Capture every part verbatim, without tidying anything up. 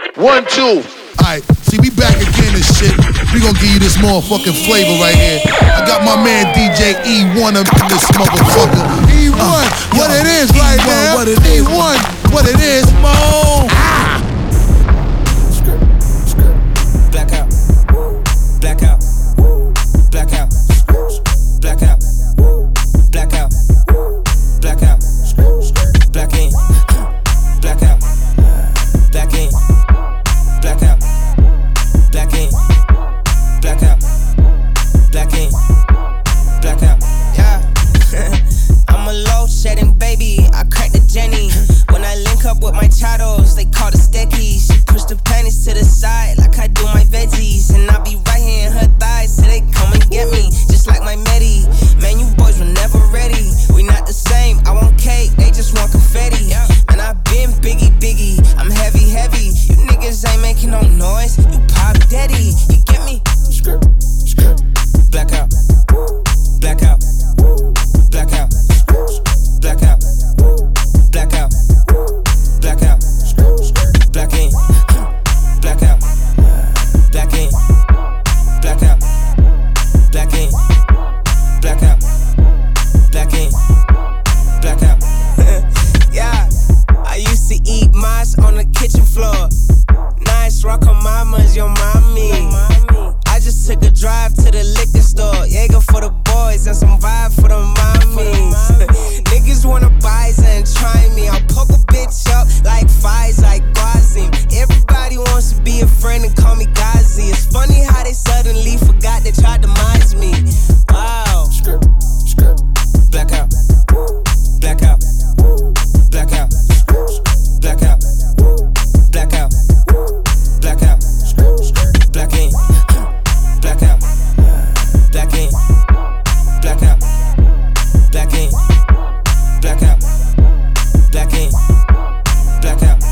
One, two. Alright, see, we back again and shit. We gonna give you this motherfucking flavor right here. I got my man D J E one up in this motherfucker. E one, uh, what yo, it is right E one, now. What it is. E one, what it is, mo. Ah. Blackout. Blackout. Blackout. Blackout. Blackout. Blackout. Black ink. Blackout. Black ink. Blackout. Black ink. Blackout. Black ink. Blackout. Yeah. I'm a low shedding baby. I cracked the Jenny. When I link up with my chatos, they call the steckies. She push the panties to the side like I do my veggies. And I be right here in her thighs till they come and get me. Just like my Medi. Man, you boys were never ready. We not the same. I want cake, they just want confetti. And I been biggie, biggie. I'm heavy, heavy. You niggas ain't making no noise. You pop daddy. You get me? Skirt, skirt. Blackout. Blackout. Blackout. Blackout. Blackout. Blackout. Black ink. Blackout. Black ink. Blackout. Black ink. Blackout. Black ink. Blackout. Yeah. I used to eat mice on the kitchen floor. Nice rock on mama's, your mommy. I just took a drive to the liquor store. Jaeger for the boys and some vibe for the mommies. Niggas wanna buy and try me. I'll poke a bitch up like Fies, like Guazim. Everybody wants to be a friend and call me Gazi. It's funny how they suddenly forgot they tried to minds me. Wow. Blackout. Blackout. Blackout. Blackout. Blackout. Blackout. Black ink. Blackout. Black ink. Blackout. Black ink. Blackout. Black ink. Blackout.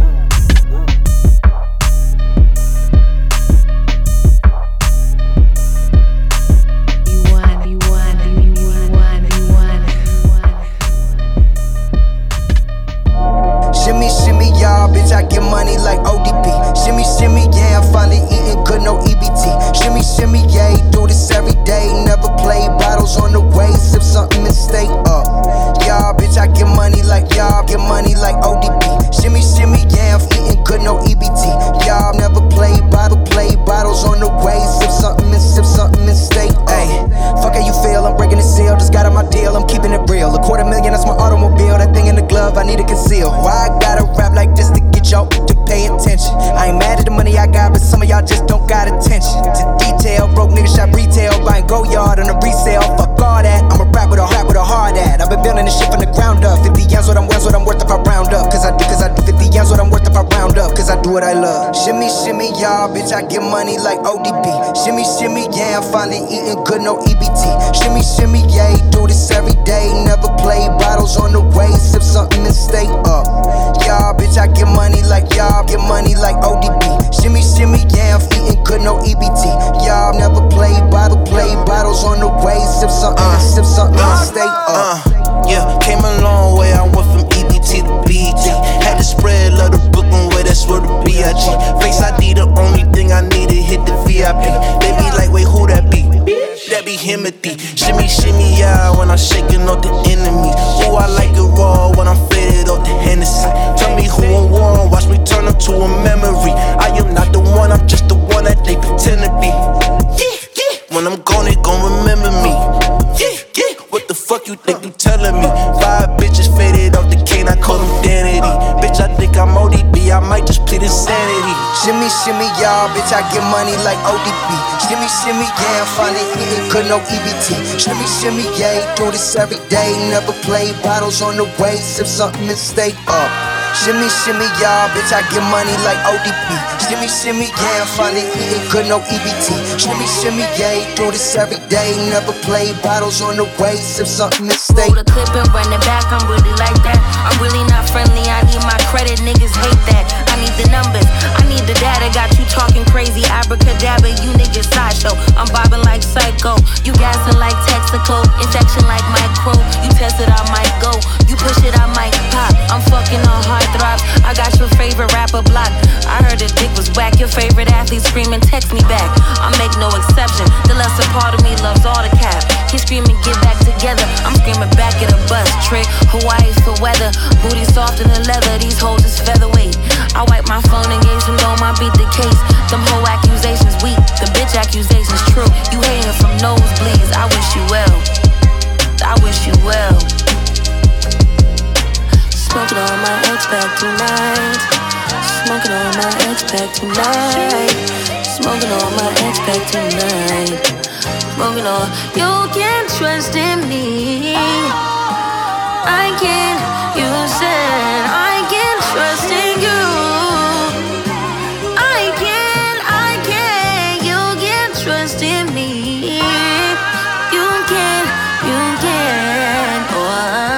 You won, you won, you won, you won, you won. Shimmy, shimmy, y'all, bitch, I get money like O D P. Shimmy, shimmy, yeah, I'm finally eating good, no E B T. Shimmy, shimmy, yeah, do this every day. Never play bottles on the way, sip something and stay up. Y'all, bitch, I get money like y'all, get money like O D P. Shimmy, shimmy, yeah, I'm eating good, no E B T. Y'all never play bottle, play bottles on the way, sip something and sip something and stay. Ayy, fuck how you feel, I'm breaking the seal, just got on my deal, I'm keeping it real. A quarter million, that's my automobile, that thing in the glove, I need to conceal. Why I gotta rap like this to get y'all to pay attention? I ain't mad at the money I got, but some of y'all just don't got attention to detail. Broke niggas shop retail, buying go yard on a resale. Fuck all that, I'm a rap with a heart with a hard at. I've been building this shit from the ground up. fifty yams what I'm worth, what I'm worth if I round up. Cause I do, cause I do fifty yams what I'm worth if I round up. Cause I do what I love. Shimmy, shimmy, y'all, bitch, I get money like O D B. Shimmy, shimmy, yeah, I'm finally eating good, no E B T. Shimmy, shimmy, yeah, do this every day. Never play bottles on the way, sip something and stay up. Y'all, bitch, I get money like y'all, get money like O D B. Shimmy, shimmy, yeah, I'm eating good, no E B T. Y'all never play bottle, play bottles on the way, sip something uh, and sip something uh, and stay up. Uh, yeah, came a long way, I went from E B T to B G. Had to spread love the Brooklyn way, that's where the B I G. Face I D, the only thing I need to hit the V I P. They be like, wait, who that be? That be Himothy. Shimmy, shimmy, yeah, when I'm shaking off the enemy. Ooh, I like it raw when I'm faded off the Hennessy. Tell me who I'm warm, watch me turn up to a memory. I am not the one, I'm just the one that they pretend to be. Yeah, yeah. When I'm gone, they gon' remember me. Yeah, yeah. What the fuck you think you telling me? Five bitches faded off the cane, I call them Danity. Bitch, I think I'm O D B, I might just plead insanity. Shimmy, shimmy, y'all, bitch, I get money like O D B. Shimmy, shimmy, yeah, I'm finally eating good, no E B T. Shimmy, shimmy, yeah, do this every day. Never play bottles on the way, sip something and stay up. Shimmy, shimmy, y'all, bitch, I get money like O D B. Shimmy, shimmy, yeah, I'm finally eating good, no E B T. Shimmy, shimmy, yeah, do this every day. Never play bottles on the way, sip something and stay. Roll the clip and run it back, I'm really like that. I'm really not friendly, I need my credit, niggas hate that. I need the numbers, I need the data. Got you talking crazy, abracadabra, you niggas sideshow. I'm bobbing like Psycho, you gassing like Texaco. Injection like micro, you test it, I might go. You push it, I might pop. I'm fucking on hard throbs, I got your favorite rapper block. I heard the dick was whack. Your favorite athlete screaming, text me back. I make no exception. The lesser part of me loves all the cap. He screaming, get back together. I'm screaming back at a bus. Trick, Hawaii for weather. Booty softer than leather. These hoes is featherweight. I wipe my phone and gave some dome. I beat the case. Them whole accusations weak. The bitch accusations true. You hating from nosebleeds. I wish you well. I wish you well. Smoking on my ex back tonight. Smoking on my ex back tonight. Smoking on my ex back tonight. Smoking on. You can trust in me. I can. You said I can trust in you. I can. I can. You can trust in me. You can. You can. Oh.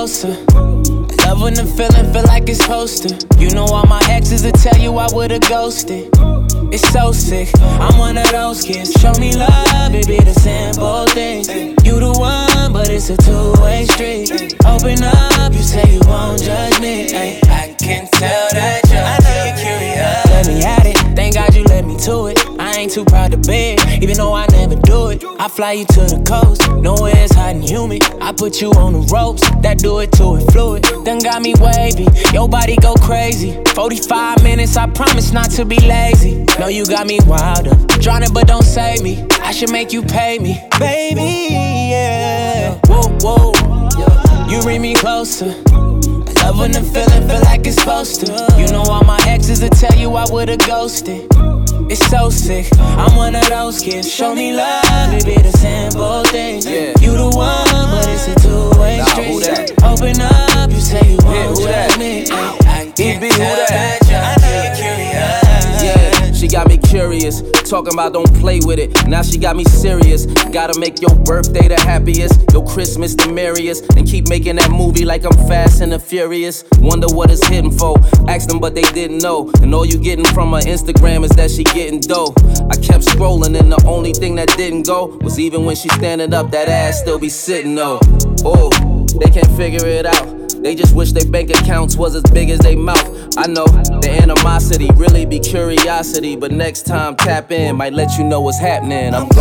closer. I love when the feeling feel like it's supposed to. You know all my exes will tell you I would've ghosted. It's so sick, I'm one of those kids. Show me love, it be the simple things. You the one, but it's a two-way street. Open up, you say you won't judge me. Ay, I can tell that you're, I know you're curious. Let me at it, thank God you let me to it. I ain't too proud to beg, even though I never do it. I fly you to the coast, nowhere it's hot and humid. I put you on the ropes, that do it to it fluid. Done got me wavy, your body go crazy. forty-five minutes, I promise not to be lazy. Know you got me wild up, drowning but don't save me. I should make you pay me, baby, yeah. Whoa, whoa, you bring me closer. I love when the feeling feel like it's supposed to. You know all my exes will tell you I would've ghosted. It's so sick, I'm one of those kids. Show me love, it be the simple things. Yeah. You the one, but it's a two-way nah, street. Open up, you say you won't yeah, judge me. I, I can't be tell that, that I know you're curious. Yeah, she got me curious, talking about don't play with it. Now she got me serious. Gotta make your birthday the happiest, your Christmas the merriest, and keep making that movie like I'm Fast and the Furious. Wonder what it's hitting for. Asked them, but they didn't know. And all you getting from her Instagram is that she getting dough. I kept scrolling, and the only thing that didn't go was even when she standing up, that ass still be sitting though. Oh, they can't figure it out. They just wish their bank accounts was as big as they mouth. I know, the animosity really be curiosity. But next time, tap in, might let you know what's happening. I'm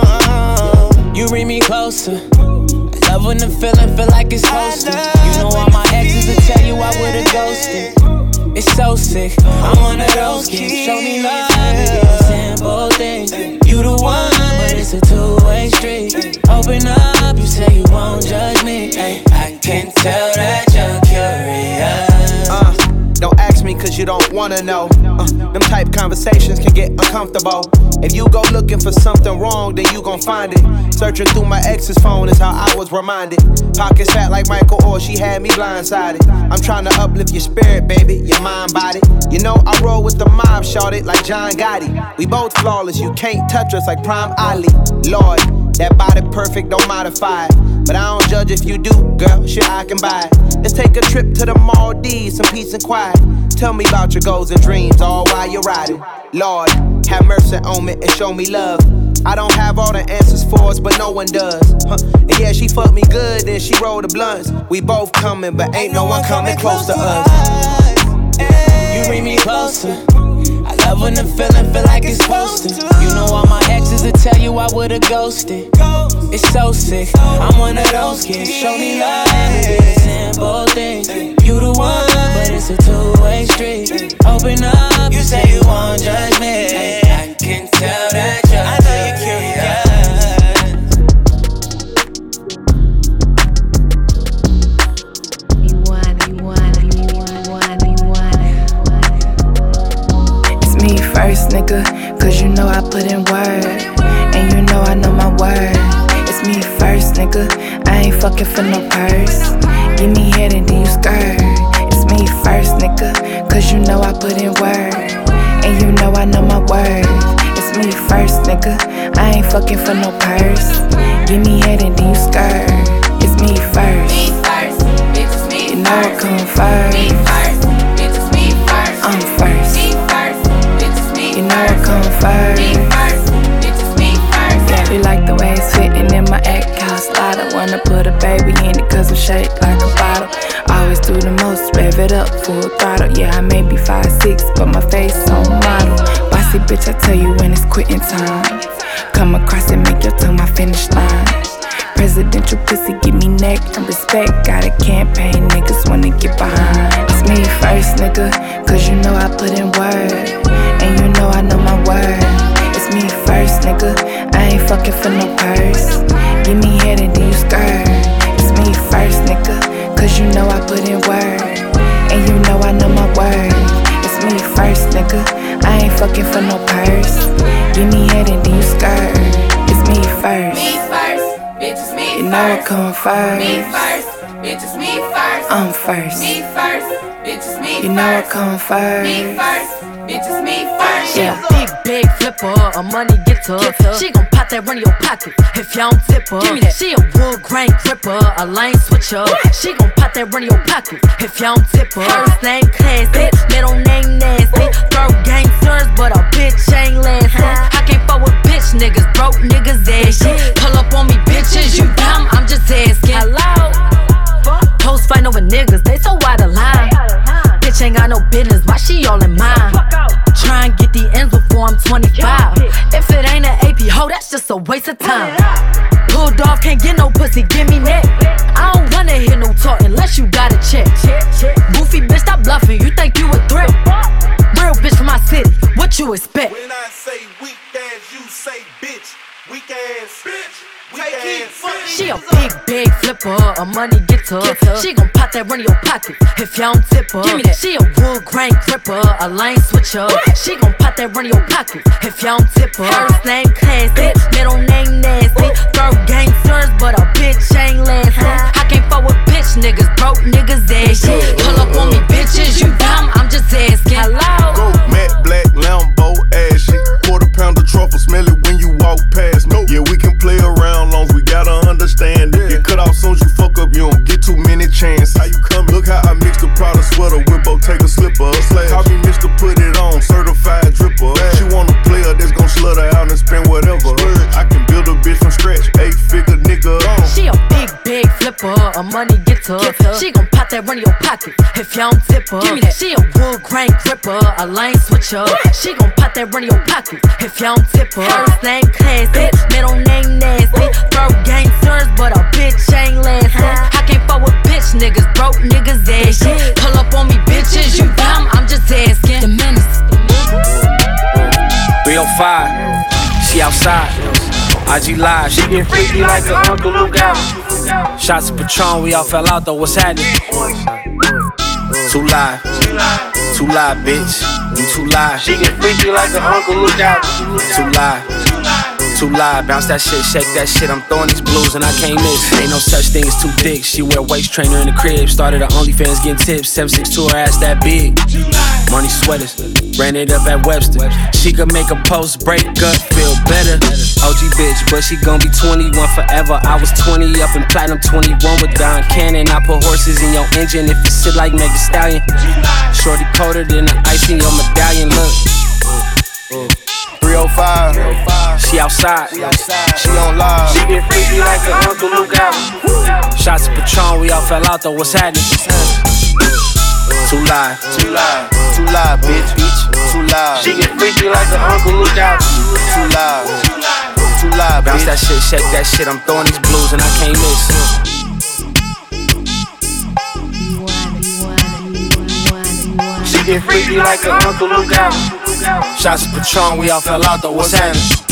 gone. You bring me closer. I love when the feeling feel like it's supposed to. You know all my exes will tell you I would've ghosted. It's so sick, I'm one of those kids. Show me love, it be the simple things. You the one, but it's a two-way street. Open up, you say you won't judge me. Ay, I can tell that you're curious. Uh, don't ask me cause you don't wanna know. Uh, them type conversations can get uncomfortable. If you go looking for something wrong, then you gon' find it. Searching through my ex's phone is how I was reminded. Pockets fat like Michael or she had me blindsided. I'm trying to uplift your spirit, baby, your mind, body. You know I roll with the mob, shorted like John Gotti. We both flawless, you can't touch us like Prime Ali. Lord, that body perfect, don't modify it. But I don't judge if you do, girl, shit I can buy it. Let's take a trip to the Maldives, some peace and quiet. Tell me about your goals and dreams, all while you're riding. Lord, have mercy on me and show me love. I don't have all the answers for us, but no one does. Huh. And yeah, she fucked me good, then she rolled the blunts. We both coming, but ain't no one coming close to us. You bring me closer. I love when the feeling feel like it's supposed to. You know all my exes will tell you I would've ghosted. It's so sick, I'm one of those kids. Show me love, it be the simple things. You the one, but it's a two-way street. Open up, you say you won't judge me. I can tell that you're, I know you're curious. You want it, you want it, you want it, you want it. It's me first, nigga, cause you know I put in work. And you know I know my word. It's me first, nigga, I ain't fucking for no purse. Give me head and then you skirt. It's me first, nigga, cause you know I put in work. And you know I know my word. It's me first, nigga, I ain't fucking for no purse. Give me head and then you skirt. It's me first. Me first, bitch, it's me you know first. I come first. Me first, bitch, it's me first. I'm first. Me first, bitch, it's me You know I first. come first. Me first, bitch, it's me first. Yeah, we like the way it's fitting in my act house slider. Wanna put a baby in it cause I'm shaped like a bottle. Always do the most, rev it up, full throttle. Yeah, I may be five six, but my face on model. Bossy bitch, I tell you when it's quitting time. Come across and make your tongue my finish line. Presidential pussy, give me neck and respect. Got a campaign, niggas wanna get behind. It's me first, nigga, cause you know I put in work. And you know I know my word. It's me first, nigga, I ain't fucking for no purse. Give me head and then you skirt. It's me first, nigga, cause you know I put in work. And you know I know my word. It's me first, nigga, I ain't fucking for no purse. Give me head and then you skirt. It's me first. Me first, bitch, it's me You first. know I come first. Me first, bitch, it's me first. I'm first. Me first, bitch, it's me You know I first. come Me first. first, bitch, it's me first. Yeah, big, big flipper, a money getter. She gon' pop that run in your pocket if y'all don't tip her. Give me that. She a wood grain gripper, a lane switcher. She gon' pop that run in your pocket if y'all don't tip her. First name classy, middle name nasty. Third gangsters, but a bitch ain't lasting. I can't fuck with bitch niggas, broke niggas ashy. Pull up on me, bitches, you dumb, I'm just asking. Hello? Hoes fighting over niggas, they so out of line. Bitch ain't got no business, why she all in mine? Try and get the ends before I'm twenty-five. If it ain't an A P hoe, that's just a waste of time. Pulled off, can't get no pussy, give me neck. I don't wanna hear no talk unless you got a check. Goofy bitch, stop bluffing, you think you a threat? Real bitch from my city, what you expect? When I say weak ass, you say bitch. Weak ass, bitch. Weak ass. She a big, big flipper, a money getter. She gon' pop that run in your pocket if y'all don't tip her. Give me that. She a wood grain gripper, a lane switcher. She gon' pop that run in your pocket if y'all don't tip her. First name classy, middle name nasty. Third gangsters, but a bitch ain't lasting. I can't fuck with bitch niggas, broke niggas ashy. Pull up on me, bitches, you dumb, I'm just asking. Hello? Go matte black Lambo ashy. Quarter pounder truffle, smell it when you walk past. No, yeah, we can play around long as we gotta understand it. Get cut off soon as you fuck up, you don't get too many chances. How you coming? Look how I mixed the Prada sweater with Bottega slipper. Call me Mister Put It On, certified dripper. She want a player that's gon' slutter out and spend whatever. I can build a bitch from scratch, eight figure nigga. She a big, big flipper, a money getter. She gon' pop that run in your pocket if y'all don't tip her. Give me that. She a wood grain gripper, a lane switcher. She gon' pop that run in your pocket if y'all don't tip her. First name classy, middle name nasty. Third gangsters, but a bitch ain't lasting. I can't fuck with bitch niggas, broke niggas ashy. Pull up on me, bitches, you dumb, I'm just asking. The menace. three oh five, she outside. I G live, she get freaky like her Uncle Luke out. Shots of Patron, we all fell out though, what's happening? Too live, too live, bitch. You too live. She get freaky like her Uncle Luke out. Too live. Too live, bounce that shit, shake that shit. I'm throwing these blues and I can't miss. Ain't no such thing as too thick. She wear waist trainer in the crib. Started her OnlyFans getting tips. seven six two, her ass that big. Money sweaters, ran it up at Webster. She could make a post break up, feel better. O G bitch, but she gon' be twenty-one forever. I was twenty up in platinum, twenty-one with Don Cannon. I put horses in your engine if you sit like Meg Thee Stallion. Shorty colder than the ice in your medallion. Look. three oh five, she outside, she on live. She get freaky like her Uncle Luke out. Shots of Patron, we all fell out though, what's happening? Too live, too live, too live, bitch, bitch, too live. She get freaky like her Uncle Luke out. Too live, too live, bounce that shit, shake that shit. I'm throwing these blues and I can't miss. She get freaky like her Uncle Luke out. Shots of Patron, we all fell out though, what's happening?